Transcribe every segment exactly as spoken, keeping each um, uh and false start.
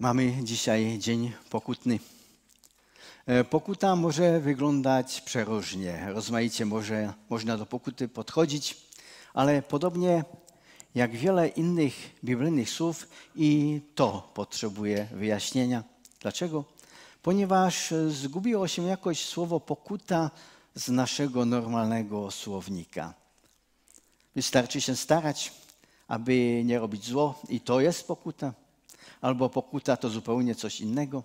Mamy dzisiaj dzień pokutny. Pokuta może wyglądać przeróżnie, rozmaicie może, można do pokuty podchodzić, ale podobnie jak wiele innych biblijnych słów i to potrzebuje wyjaśnienia. Dlaczego? Ponieważ zgubiło się jakoś słowo pokuta z naszego normalnego słownika. Wystarczy się starać, aby nie robić zło i to jest pokuta. Albo pokuta to zupełnie coś innego.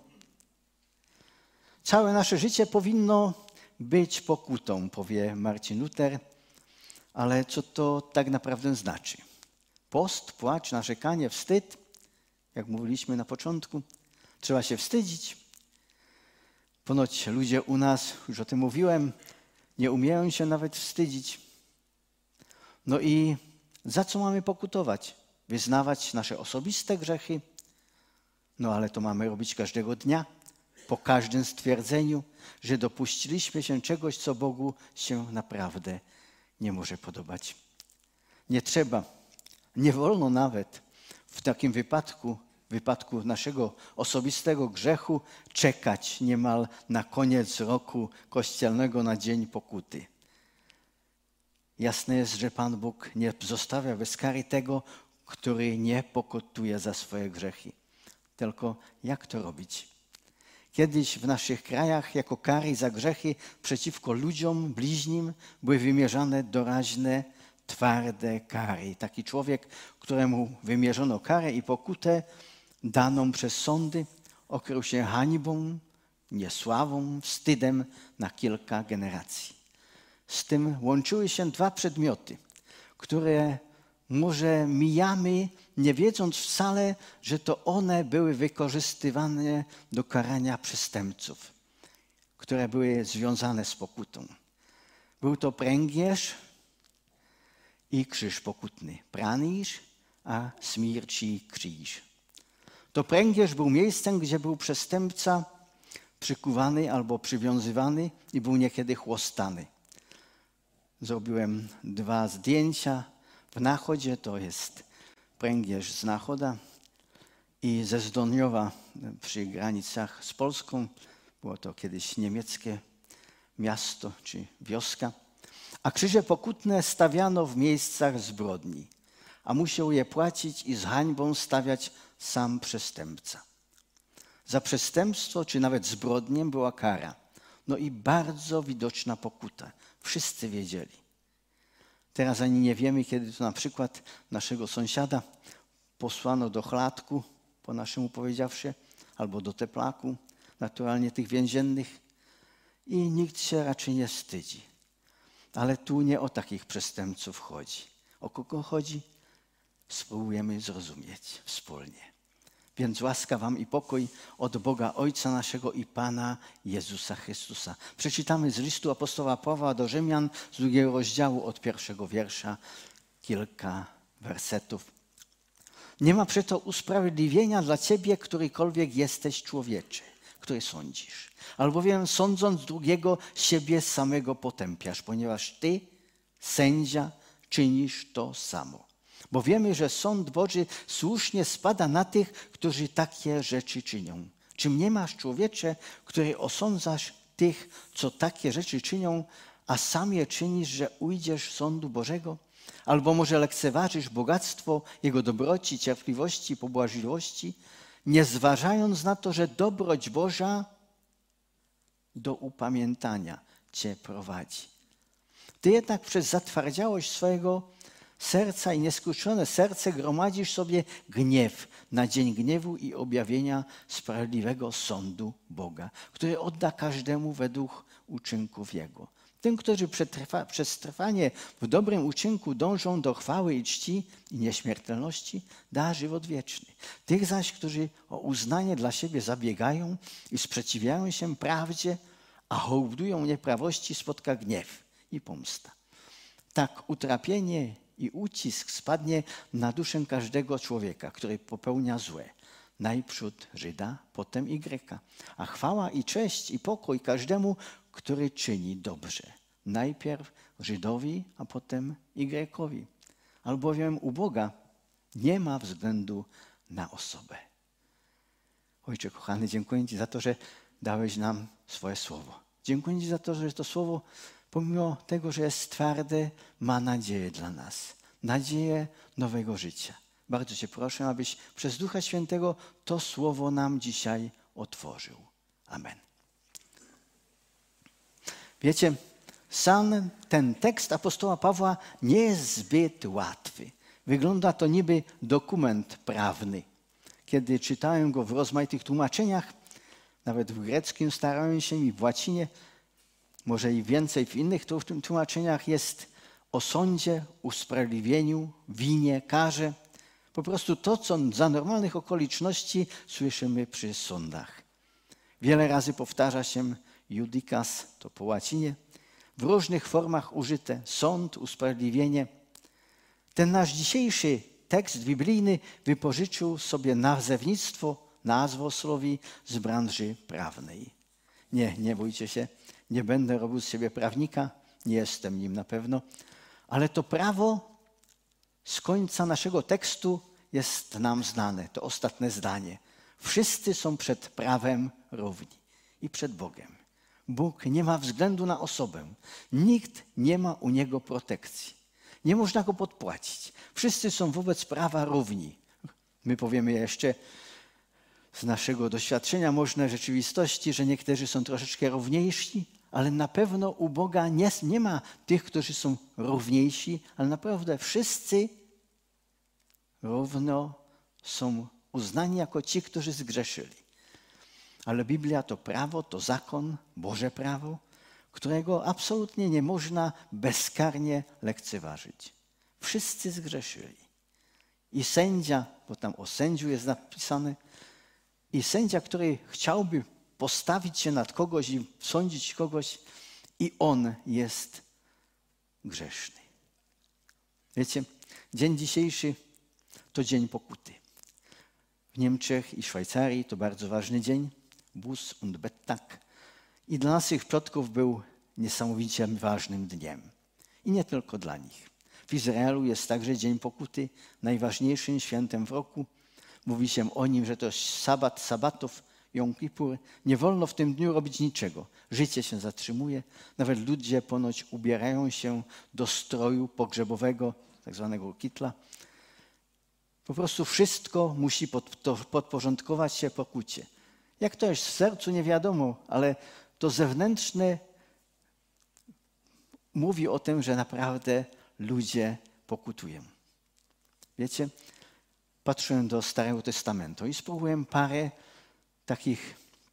Całe nasze życie powinno być pokutą, powie Marcin Luther, ale co to tak naprawdę znaczy? Post, płacz, narzekanie, wstyd, jak mówiliśmy na początku, trzeba się wstydzić. Ponoć ludzie u nas, już o tym mówiłem, nie umieją się nawet wstydzić. No i za co mamy pokutować? Wyznawać nasze osobiste grzechy? No ale to mamy robić każdego dnia, po każdym stwierdzeniu, że dopuściliśmy się czegoś, co Bogu się naprawdę nie może podobać. Nie trzeba, nie wolno nawet w takim wypadku, w wypadku naszego osobistego grzechu, czekać niemal na koniec roku kościelnego, na dzień pokuty. Jasne jest, że Pan Bóg nie zostawia bez kary tego, który nie pokutuje za swoje grzechy. Tylko jak to robić? Kiedyś w naszych krajach jako kary za grzechy przeciwko ludziom, bliźnim były wymierzane doraźne, twarde kary. Taki człowiek, któremu wymierzono karę i pokutę daną przez sądy, okrył się hańbą, niesławą, wstydem na kilka generacji. Z tym łączyły się dwa przedmioty, które może mijamy, nie wiedząc wcale, że to one były wykorzystywane do karania przestępców, które były związane z pokutą. Był to pręgierz i krzyż pokutny. Pranisz, a śmierci krzyż. To pręgierz był miejscem, gdzie był przestępca przykuwany albo przywiązywany i był niekiedy chłostany. Zrobiłem dwa zdjęcia. W Nachodzie to jest pręgierz z Nachoda i ze Zdoniowa przy granicach z Polską. Było to kiedyś niemieckie miasto czy wioska. A krzyże pokutne stawiano w miejscach zbrodni, a musiał je płacić i z hańbą stawiać sam przestępca. Za przestępstwo czy nawet zbrodnię była kara. No i bardzo widoczna pokuta. Wszyscy wiedzieli. Teraz ani nie wiemy, kiedy to na przykład naszego sąsiada posłano do chladku, po naszemu powiedziawszy, albo do teplaku, naturalnie tych więziennych i nikt się raczej nie wstydzi. Ale tu nie o takich przestępców chodzi. O kogo chodzi? Spróbujemy zrozumieć wspólnie. Więc łaska wam i pokój od Boga Ojca naszego i Pana Jezusa Chrystusa. Przeczytamy z listu apostoła Pawła do Rzymian z drugiego rozdziału od pierwszego wiersza kilka wersetów. Nie ma przeto usprawiedliwienia dla ciebie, którykolwiek jesteś człowiecze, który sądzisz. Albowiem sądząc drugiego, siebie samego potępiasz, ponieważ ty, sędzia, czynisz to samo. Bo wiemy, że sąd Boży słusznie spada na tych, którzy takie rzeczy czynią. Czy nie masz, człowiecze, który osądzasz tych, co takie rzeczy czynią, a sam je czynisz, że ujdziesz sądu Bożego? Albo może lekceważysz bogactwo Jego dobroci, cierpliwości, pobłażliwości, nie zważając na to, że dobroć Boża do upamiętania cię prowadzi. Ty jednak przez zatwardziałość swojego serca i nieskruszone serce gromadzisz sobie gniew na dzień gniewu i objawienia sprawiedliwego sądu Boga, który odda każdemu według uczynków Jego. Tym, którzy przetrwa, przez trwanie w dobrym uczynku dążą do chwały i czci i nieśmiertelności, da żywot wieczny. Tych zaś, którzy o uznanie dla siebie zabiegają i sprzeciwiają się prawdzie, a hołdują nieprawości, spotka gniew i pomsta. Tak utrapienie i ucisk spadnie na duszę każdego człowieka, który popełnia złe. Najprzód Żyda, potem i Greka. A chwała i cześć i pokój każdemu, który czyni dobrze. Najpierw Żydowi, a potem i Grekowi. Albowiem u Boga nie ma względu na osobę. Ojcze kochany, dziękuję Ci za to, że dałeś nam swoje słowo. Dziękuję Ci za to, że to słowo, pomimo tego, że jest twarde, ma nadzieję dla nas. Nadzieję nowego życia. Bardzo Cię proszę, abyś przez Ducha Świętego to słowo nam dzisiaj otworzył. Amen. Wiecie, sam ten tekst apostoła Pawła nie jest zbyt łatwy. Wygląda to niby dokument prawny. Kiedy czytałem go w rozmaitych tłumaczeniach, nawet w greckim starałem się i w łacinie, może i więcej w innych tłumaczeniach jest o sądzie, usprawiedliwieniu, winie, karze. Po prostu to, co za normalnych okoliczności słyszymy przy sądach. Wiele razy powtarza się judikas, to po łacinie, w różnych formach użyte, sąd, usprawiedliwienie. Ten nasz dzisiejszy tekst biblijny wypożyczył sobie nazewnictwo, nazwosłowi z branży prawnej. Nie, nie bójcie się, nie będę robił z siebie prawnika, nie jestem nim na pewno, ale to prawo z końca naszego tekstu jest nam znane, to ostatnie zdanie. Wszyscy są przed prawem równi i przed Bogiem. Bóg nie ma względu na osobę. Nikt nie ma u Niego protekcji. Nie można Go podpłacić. Wszyscy są wobec prawa równi. My powiemy jeszcze z naszego doświadczenia, może rzeczywistości, że niektórzy są troszeczkę równiejsi, ale na pewno u Boga nie, nie ma tych, którzy są równiejsi, ale naprawdę wszyscy równo są uznani jako ci, którzy zgrzeszyli. Ale Biblia to prawo, to zakon, Boże prawo, którego absolutnie nie można bezkarnie lekceważyć. Wszyscy zgrzeszyli. I sędzia, bo tam o sędziu jest napisane, i sędzia, który chciałby postawić się nad kogoś i sądzić kogoś, i on jest grzeszny. Wiecie, dzień dzisiejszy to dzień pokuty. W Niemczech i Szwajcarii to bardzo ważny dzień, Buß und Bettag. I dla naszych przodków był niesamowicie ważnym dniem. I nie tylko dla nich. W Izraelu jest także dzień pokuty, najważniejszym świętem w roku. Mówi się o nim, że to jest sabat sabatów, Jom Kippur. Nie wolno w tym dniu robić niczego. Życie się zatrzymuje. Nawet ludzie ponoć ubierają się do stroju pogrzebowego, tak zwanego kitla. Po prostu wszystko musi pod, to, podporządkować się pokucie. Jak to jest w sercu, nie wiadomo, ale to zewnętrzne mówi o tym, że naprawdę ludzie pokutują. Wiecie, patrzyłem do Starego Testamentu i spróbowałem parę takich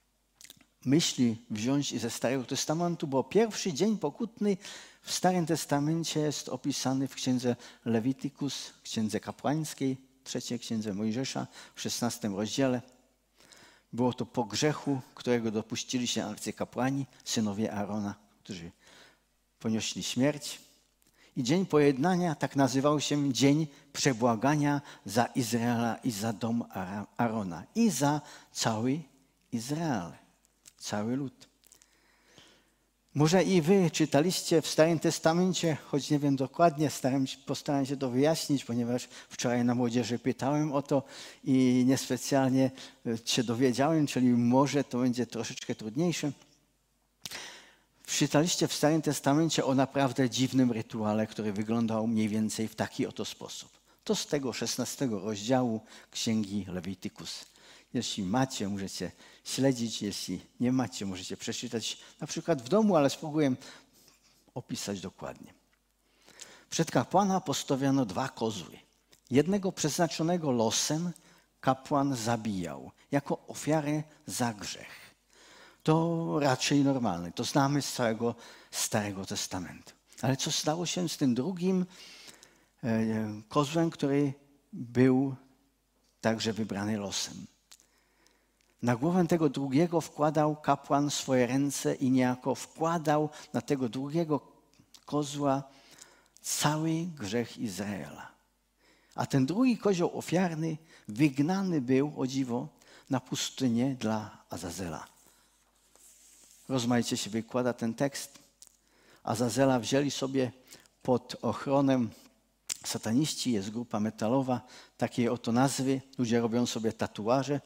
myśli wziąć ze Starego Testamentu, bo pierwszy dzień pokutny w Starym Testamencie jest opisany w księdze Lewiticus, księdze kapłańskiej, trzeciej księdze Mojżesza, w szesnastym rozdziale. Było to po grzechu, którego dopuścili się arcykapłani, synowie Aarona, którzy ponieśli śmierć. I dzień pojednania tak nazywał się dzień przebłagania za Izraela i za dom Aarona i za cały Izrael, cały lud. Może i wy czytaliście w Starym Testamencie, choć nie wiem dokładnie, staram się, postaram się to wyjaśnić, ponieważ wczoraj na młodzieży pytałem o to i niespecjalnie się dowiedziałem, czyli może to będzie troszeczkę trudniejsze. Czytaliście w Starym Testamencie o naprawdę dziwnym rytuale, który wyglądał mniej więcej w taki oto sposób. To z tego szesnastego rozdziału Księgi Lewiticus. Jeśli macie, możecie śledzić, jeśli nie macie, możecie przeczytać na przykład w domu, ale spróbuję opisać dokładnie. Przed kapłana postawiono dwa kozły. Jednego przeznaczonego losem kapłan zabijał jako ofiarę za grzech. To raczej normalne, to znamy z całego Starego Testamentu. Ale co stało się z tym drugim e, kozłem, który był także wybrany losem? Na głowę tego drugiego wkładał kapłan swoje ręce i niejako wkładał na tego drugiego kozła cały grzech Izraela. A ten drugi kozioł ofiarny wygnany był, o dziwo, na pustynię dla Azazela. Rozmaicie się wykłada ten tekst. Azazela wzięli sobie pod ochronę sataniści, jest grupa metalowa, takiej oto nazwy. Ludzie robią sobie tatuaże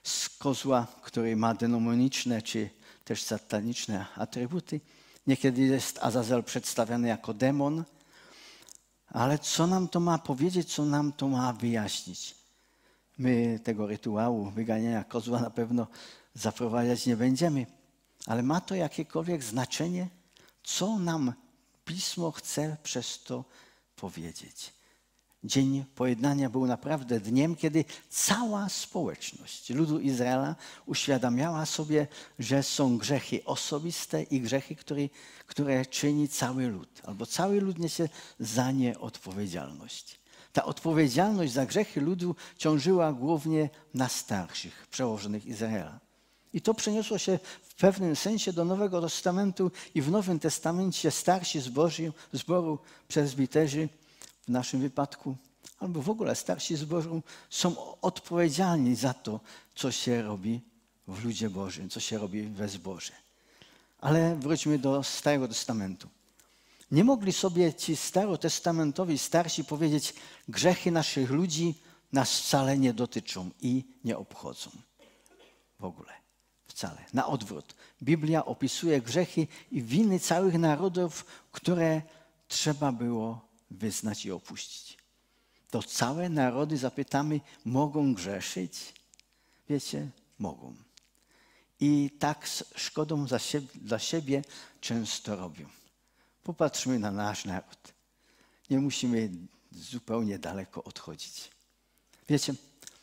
z kozła, który ma demoniczne czy też sataniczne atrybuty. Niekiedy jest Azazel przedstawiany jako demon, ale co nam to ma powiedzieć, co nam to ma wyjaśnić? My tego rytuału wyganiania kozła na pewno zaprowadzać nie będziemy, ale ma to jakiekolwiek znaczenie, co nam Pismo chce przez to powiedzieć. Dzień Pojednania był naprawdę dniem, kiedy cała społeczność ludu Izraela uświadamiała sobie, że są grzechy osobiste i grzechy, które, które czyni cały lud, albo cały lud niesie za nie odpowiedzialność. Ta odpowiedzialność za grzechy ludu ciążyła głównie na starszych, przełożonych Izraela. I to przeniosło się w pewnym sensie do Nowego Testamentu i w Nowym Testamencie starsi zboru, zboru prezbiterzy w naszym wypadku, albo w ogóle starsi zboru są odpowiedzialni za to, co się robi w ludzie Bożym, co się robi we zborze. Ale wróćmy do Starego Testamentu. Nie mogli sobie ci starotestamentowi starsi powiedzieć, grzechy naszych ludzi nas wcale nie dotyczą i nie obchodzą. W ogóle. Wcale. Na odwrót. Biblia opisuje grzechy i winy całych narodów, które trzeba było wyznać i opuścić. To całe narody, zapytamy, mogą grzeszyć? Wiecie, mogą. I tak z szkodą za siebie, dla siebie często robią. Popatrzmy na nasz naród. Nie musimy zupełnie daleko odchodzić. Wiecie,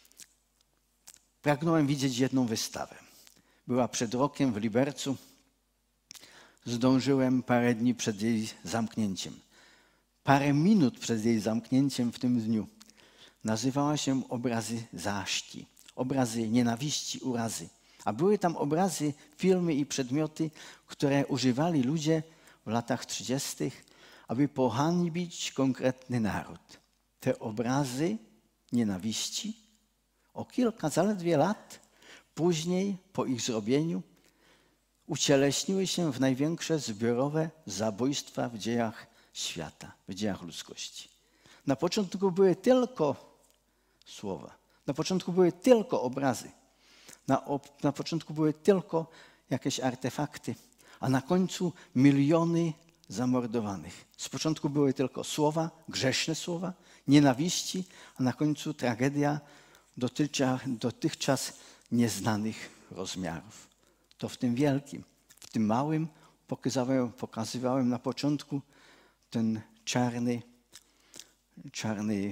pragnąłem widzieć jedną wystawę. Była przed rokiem w Libercu. Zdążyłem parę dni przed jej zamknięciem. Parę minut przed jej zamknięciem w tym dniu. Nazywała się Obrazy Zaaszki. Obrazy nienawiści, urazy. A były tam obrazy, filmy i przedmioty, które używali ludzie w latach trzydziestych, aby pohańbić konkretny naród. Te obrazy nienawiści o kilka zaledwie lat później, po ich zrobieniu, ucieleśniły się w największe zbiorowe zabójstwa w dziejach świata, w dziejach ludzkości. Na początku były tylko słowa, na początku były tylko obrazy, na, op- na początku były tylko jakieś artefakty, a na końcu miliony zamordowanych. Z początku były tylko słowa, grzeszne słowa, nienawiści, a na końcu tragedia dotychczas, dotychczas nieznanych rozmiarów. To w tym wielkim, w tym małym pokazywałem, pokazywałem na początku ten czarny, czarny,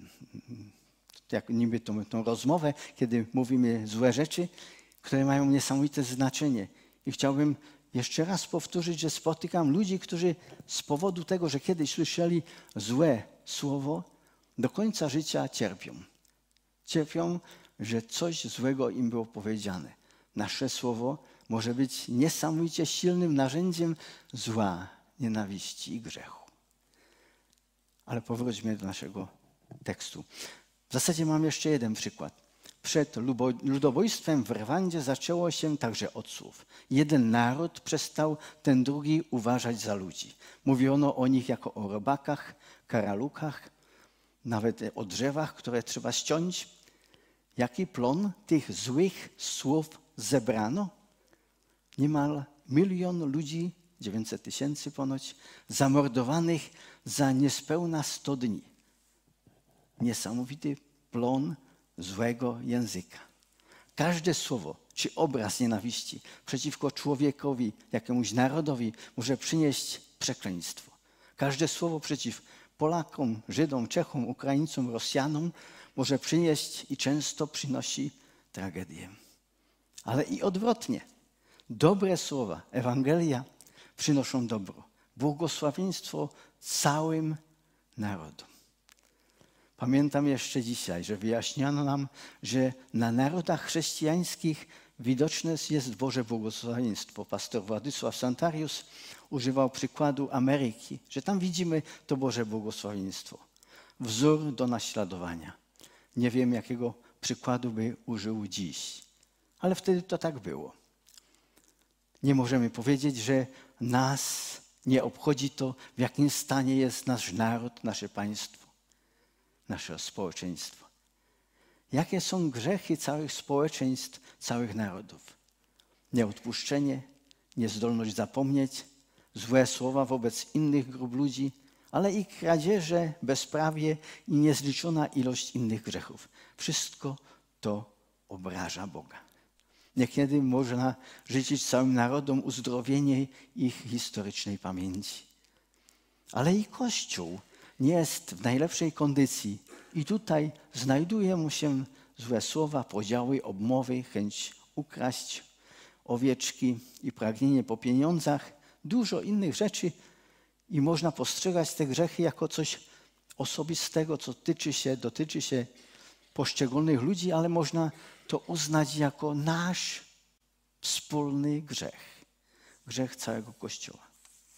jak niby tą, tą rozmowę, kiedy mówimy złe rzeczy, które mają niesamowite znaczenie. I chciałbym jeszcze raz powtórzyć, że spotykam ludzi, którzy z powodu tego, że kiedyś słyszeli złe słowo, do końca życia cierpią. Cierpią, że coś złego im było powiedziane. Nasze słowo może być niesamowicie silnym narzędziem zła, nienawiści i grzechu. Ale powróćmy do naszego tekstu. W zasadzie mam jeszcze jeden przykład. Przed ludobójstwem w Rwandzie zaczęło się także od słów. Jeden naród przestał ten drugi uważać za ludzi. Mówiono o nich jako o robakach, karalukach, nawet o drzewach, które trzeba ściąć. Jaki plon tych złych słów zebrano? Niemal milion ludzi, dziewięćset tysięcy ponoć, zamordowanych za niespełna sto dni. Niesamowity plon złego języka. Każde słowo czy obraz nienawiści przeciwko człowiekowi, jakiemuś narodowi może przynieść przekleństwo. Każde słowo przeciw Polakom, Żydom, Czechom, Ukraińcom, Rosjanom może przynieść i często przynosi tragedię. Ale i odwrotnie. Dobre słowa, Ewangelia przynoszą dobro, błogosławieństwo całym narodom. Pamiętam jeszcze dzisiaj, że wyjaśniono nam, że na narodach chrześcijańskich widoczne jest Boże błogosławieństwo. Pastor Władysław Santarius używał przykładu Ameryki, że tam widzimy to Boże błogosławieństwo. Wzór do naśladowania. Nie wiem, jakiego przykładu by użył dziś, ale wtedy to tak było. Nie możemy powiedzieć, że nas nie obchodzi to, w jakim stanie jest nasz naród, nasze państwo, nasze społeczeństwo. Jakie są grzechy całych społeczeństw, całych narodów? Nieodpuszczenie, niezdolność zapomnieć, złe słowa wobec innych grup ludzi, ale i kradzieże, bezprawie i niezliczona ilość innych grzechów. Wszystko to obraża Boga. Niekiedy można życzyć całym narodom uzdrowienie ich historycznej pamięci. Ale i Kościół nie jest w najlepszej kondycji i tutaj znajduje mu się złe słowa, podziały, obmowy, chęć ukraść owieczki i pragnienie po pieniądzach, dużo innych rzeczy i można postrzegać te grzechy jako coś osobistego, co tyczy się, dotyczy się poszczególnych ludzi, ale można to uznać jako nasz wspólny grzech. Grzech całego Kościoła.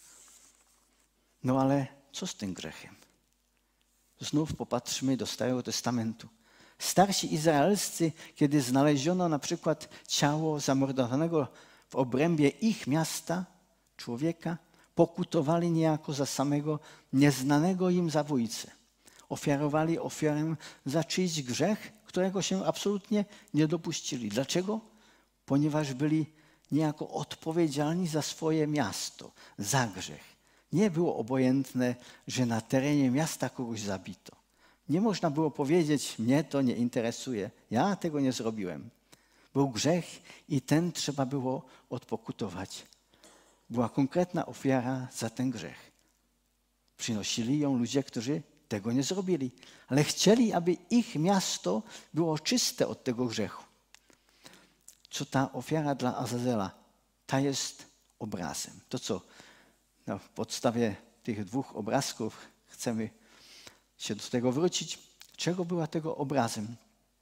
No ale co z tym grzechem? Znów popatrzmy do Starego Testamentu. Starsi izraelscy, kiedy znaleziono na przykład ciało zamordowanego w obrębie ich miasta człowieka, pokutowali niejako za samego nieznanego im zabójcę. Ofiarowali ofiarę za czyjś grzech, którego się absolutnie nie dopuścili. Dlaczego? Ponieważ byli niejako odpowiedzialni za swoje miasto, za grzech. Nie było obojętne, że na terenie miasta kogoś zabito. Nie można było powiedzieć, mnie to nie interesuje, ja tego nie zrobiłem. Był grzech i ten trzeba było odpokutować. Była konkretna ofiara za ten grzech. Przynosili ją ludzie, którzy tego nie zrobili, ale chcieli, aby ich miasto było czyste od tego grzechu. Co ta ofiara dla Azazela? Ta jest obrazem. To co? Na podstawie tych dwóch obrazków chcemy się do tego wrócić. Czego była tego obrazem?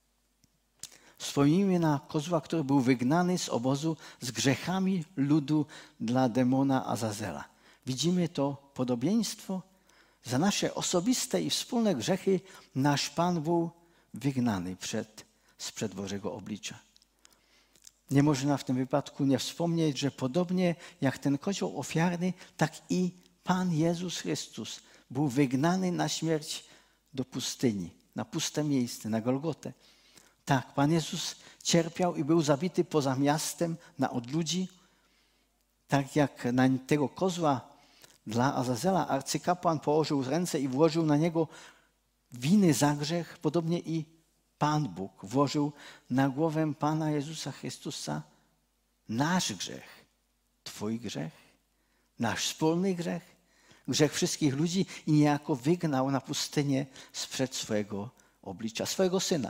Wspomnijmy na kozła, który był wygnany z obozu z grzechami ludu dla demona Azazela. Widzimy to podobieństwo. Za nasze osobiste i wspólne grzechy nasz Pan był wygnany przed, sprzed Bożego oblicza. Nie można w tym wypadku nie wspomnieć, że podobnie jak ten kozioł ofiarny, tak i Pan Jezus Chrystus był wygnany na śmierć do pustyni, na puste miejsce, na Golgotę. Tak, Pan Jezus cierpiał i był zabity poza miastem na odludzi. Tak jak na tego kozła dla Azazela arcykapłan położył ręce i włożył na niego winy za grzech, podobnie i Pan Bóg włożył na głowę Pana Jezusa Chrystusa nasz grzech, Twój grzech, nasz wspólny grzech, grzech wszystkich ludzi i niejako wygnał na pustynię sprzed swojego oblicza, swojego Syna.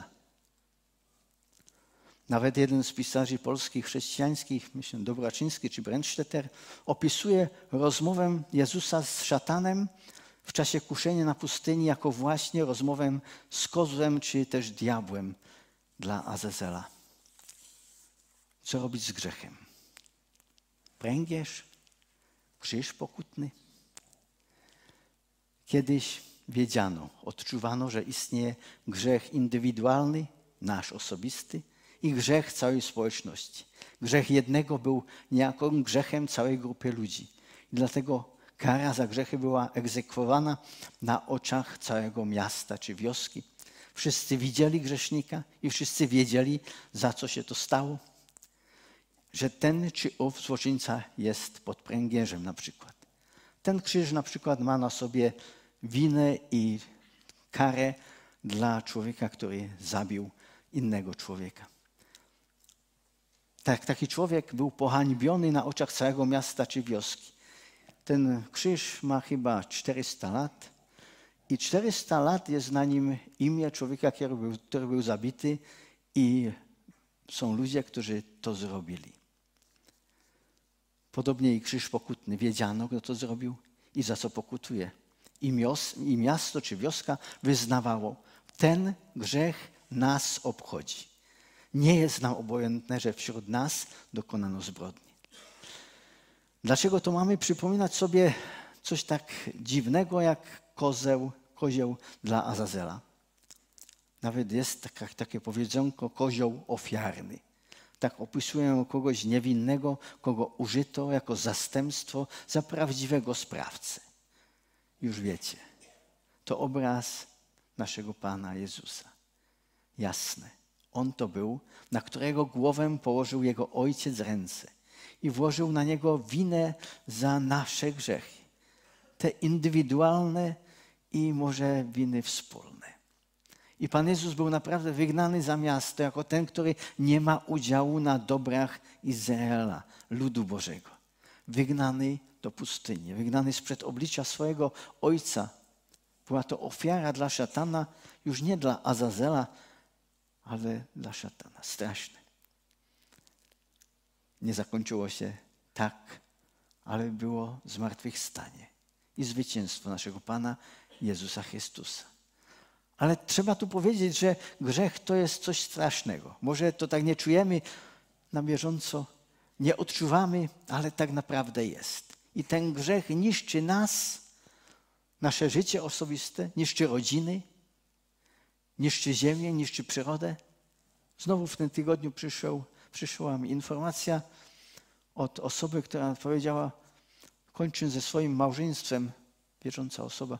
Nawet jeden z pisarzy polskich chrześcijańskich, myślę Dobraczyński czy Brandstetter, opisuje rozmowę Jezusa z szatanem w czasie kuszenia na pustyni jako właśnie rozmowę z kozłem czy też diabłem dla Azazela. Co robić z grzechem? Pręgierz, krzyż pokutny. Kiedyś wiedziano, odczuwano, że istnieje grzech indywidualny, nasz osobisty, i grzech całej społeczności. Grzech jednego był niejako grzechem całej grupy ludzi. I dlatego kara za grzechy była egzekwowana na oczach całego miasta czy wioski. Wszyscy widzieli grzesznika i wszyscy wiedzieli, za co się to stało. Że ten czy ów złoczyńca jest pod pręgierzem na przykład. Ten krzyż na przykład ma na sobie winę i karę dla człowieka, który zabił innego człowieka. Tak, taki człowiek był pohańbiony na oczach całego miasta czy wioski. Ten krzyż ma chyba czterysta lat i czterysta lat jest na nim imię człowieka, który był, który był zabity i są ludzie, którzy to zrobili. Podobnie i krzyż pokutny. Wiedziano, kto to zrobił i za co pokutuje. I, mios, i miasto czy wioska wyznawało, ten grzech nas obchodzi. Nie jest nam obojętne, że wśród nas dokonano zbrodni. Dlaczego to mamy przypominać sobie coś tak dziwnego jak kozeł, kozioł dla Azazela? Nawet jest taka, takie powiedzonko kozioł ofiarny. Tak opisują kogoś niewinnego, kogo użyto jako zastępstwo za prawdziwego sprawcę. Już wiecie, to obraz naszego Pana Jezusa. jasne. On to był, na którego głowę położył jego ojciec ręce i włożył na niego winę za nasze grzechy. Te indywidualne i może winy wspólne. I Pan Jezus był naprawdę wygnany za miasto jako ten, który nie ma udziału na dobrach Izraela, ludu Bożego. Wygnany do pustyni, wygnany sprzed oblicza swojego Ojca. Była to ofiara dla szatana, już nie dla Azazela, ale dla szatana. Straszne. Nie zakończyło się tak, ale było zmartwychwstanie i zwycięstwo naszego Pana Jezusa Chrystusa. Ale trzeba tu powiedzieć, że grzech to jest coś strasznego. Może to tak nie czujemy na bieżąco, nie odczuwamy, ale tak naprawdę jest. I ten grzech niszczy nas, nasze życie osobiste, niszczy rodziny, niszczy ziemię, niszczy przyrodę. Znowu w tym tygodniu przyszło, przyszła mi informacja od osoby, która powiedziała, kończąc ze swoim małżeństwem, wierząca osoba,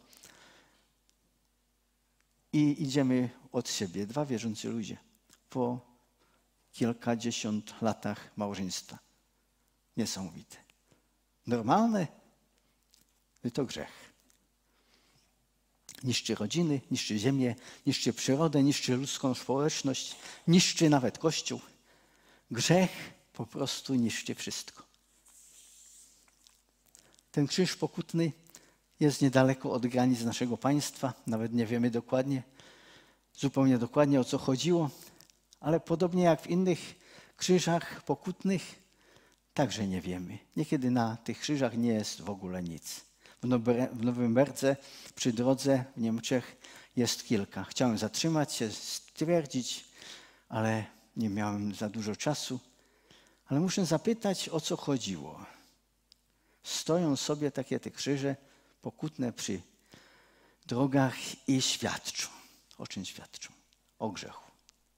i idziemy od siebie, dwa wierzący ludzie, po kilkadziesiąt latach małżeństwa. Niesamowite. Normalne? To grzech. Niszczy rodziny, niszczy ziemię, niszczy przyrodę, niszczy ludzką społeczność, niszczy nawet Kościół. Grzech po prostu niszczy wszystko. Ten krzyż pokutny jest niedaleko od granic naszego państwa. Nawet nie wiemy dokładnie, zupełnie dokładnie o co chodziło, ale podobnie jak w innych krzyżach pokutnych, także nie wiemy. Niekiedy na tych krzyżach nie jest w ogóle nic. W Norymberdze przy drodze w Niemczech jest kilka. Chciałem zatrzymać się, stwierdzić, ale nie miałem za dużo czasu. Ale muszę zapytać, o co chodziło. Stoją sobie takie te krzyże pokutne przy drogach i świadczą. O czym świadczą? O grzechu.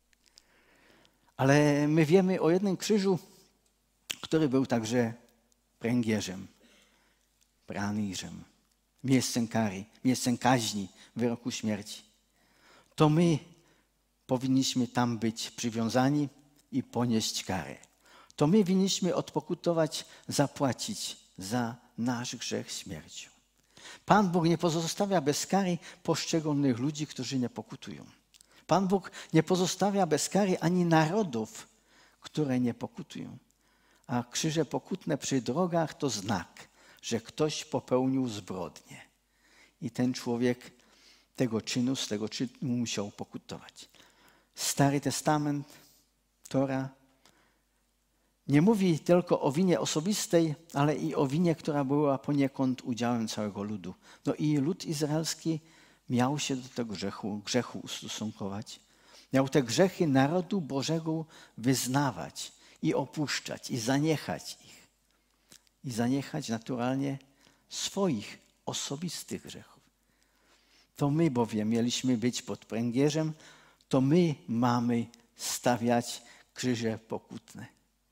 Ale my wiemy o jednym krzyżu, który był także pręgierzem, praniżem, miejscem kary, miejscem kaźni, wyroku śmierci. To my powinniśmy tam być przywiązani i ponieść karę. To my winniśmy odpokutować, zapłacić za nasz grzech śmiercią. Pan Bóg nie pozostawia bez kary poszczególnych ludzi, którzy nie pokutują. Pan Bóg nie pozostawia bez kary ani narodów, które nie pokutują. A krzyże pokutne przy drogach to znak, że ktoś popełnił zbrodnię. I ten człowiek tego czynu, z tego czynu musiał pokutować. Stary Testament, Tora, nie mówi tylko o winie osobistej, ale i o winie, która była poniekąd udziałem całego ludu. No i lud izraelski miał się do tego grzechu, grzechu ustosunkować. Miał te grzechy narodu Bożego wyznawać i opuszczać, i zaniechać ich. I zaniechać naturalnie swoich osobistych grzechów. To my bowiem mieliśmy być pod pręgierzem, to my mamy stawiać krzyże pokutne.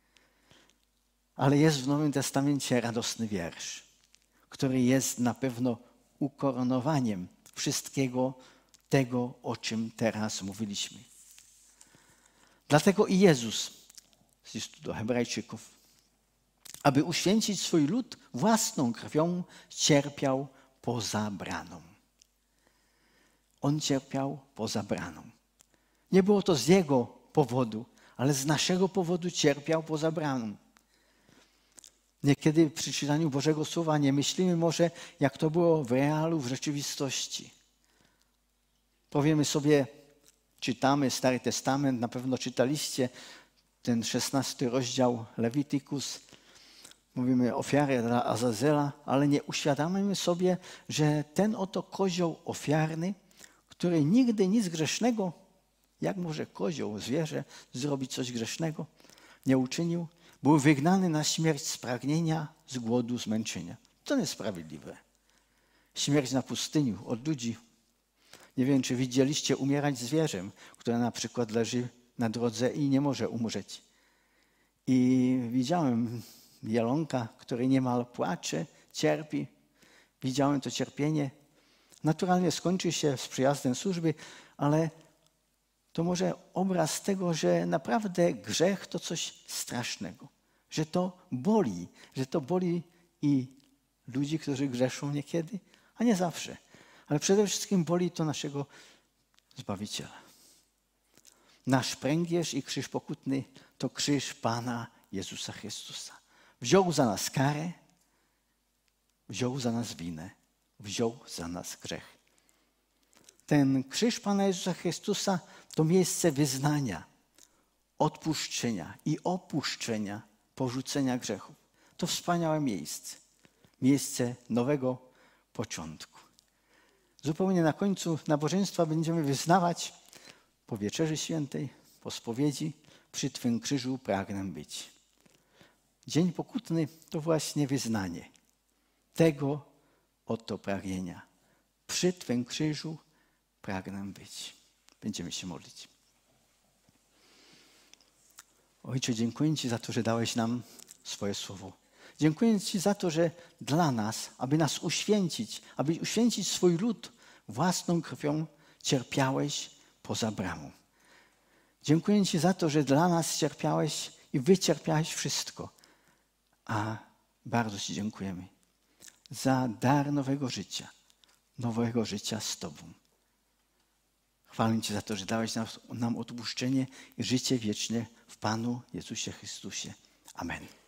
Ale jest w Nowym Testamencie radosny wiersz, który jest na pewno ukoronowaniem wszystkiego tego, o czym teraz mówiliśmy. Dlatego i Jezus, z listu do Hebrajczyków, aby uświęcić swój lud własną krwią, cierpiał poza braną. On cierpiał poza braną. Nie było to z jego powodu, ale z naszego powodu cierpiał poza braną. Niekiedy przy czytaniu Bożego Słowa nie myślimy może, jak to było w realu, w rzeczywistości. Powiemy sobie, czytamy Stary Testament, na pewno czytaliście ten szesnasty rozdział Lewitykus. Mówimy ofiarę dla Azazela, ale nie uświadamiamy sobie, że ten oto kozioł ofiarny, który nigdy nic grzesznego, jak może kozioł, zwierzę, zrobić coś grzesznego, nie uczynił, był wygnany na śmierć z pragnienia, z głodu, zmęczenia. To niesprawiedliwe. Śmierć na pustyni od ludzi. Nie wiem, czy widzieliście umierać zwierzę, które na przykład leży na drodze i nie może umrzeć. I widziałem jelonka, który niemal płacze, cierpi. Widziałem to cierpienie. Naturalnie skończy się z przyjazdem służby, ale to może obraz tego, że naprawdę grzech to coś strasznego, że to boli, że to boli i ludzi, którzy grzeszą niekiedy, a nie zawsze. Ale przede wszystkim boli to naszego Zbawiciela. Nasz pręgierz i krzyż pokutny to krzyż Pana Jezusa Chrystusa. Wziął za nas karę, wziął za nas winę, wziął za nas grzech. Ten krzyż Pana Jezusa Chrystusa to miejsce wyznania, odpuszczenia i opuszczenia, porzucenia grzechów. To wspaniałe miejsce. Miejsce nowego początku. Zupełnie na końcu nabożeństwa będziemy wyznawać po Wieczerzy Świętej, po spowiedzi, przy Twym krzyżu pragnę być. Dzień pokutny to właśnie wyznanie tego oto pragnienia. Przy Twym krzyżu pragnę być. Będziemy się modlić. Ojcze, dziękuję Ci za to, że dałeś nam swoje słowo. Dziękuję Ci za to, że dla nas, aby nas uświęcić, aby uświęcić swój lud, własną krwią cierpiałeś poza bramą. Dziękuję Ci za to, że dla nas cierpiałeś i wycierpiałeś wszystko. A bardzo Ci dziękujemy za dar nowego życia, nowego życia z Tobą. Chwalę Cię za to, że dałeś nam, nam odpuszczenie i życie wieczne w Panu Jezusie Chrystusie. Amen.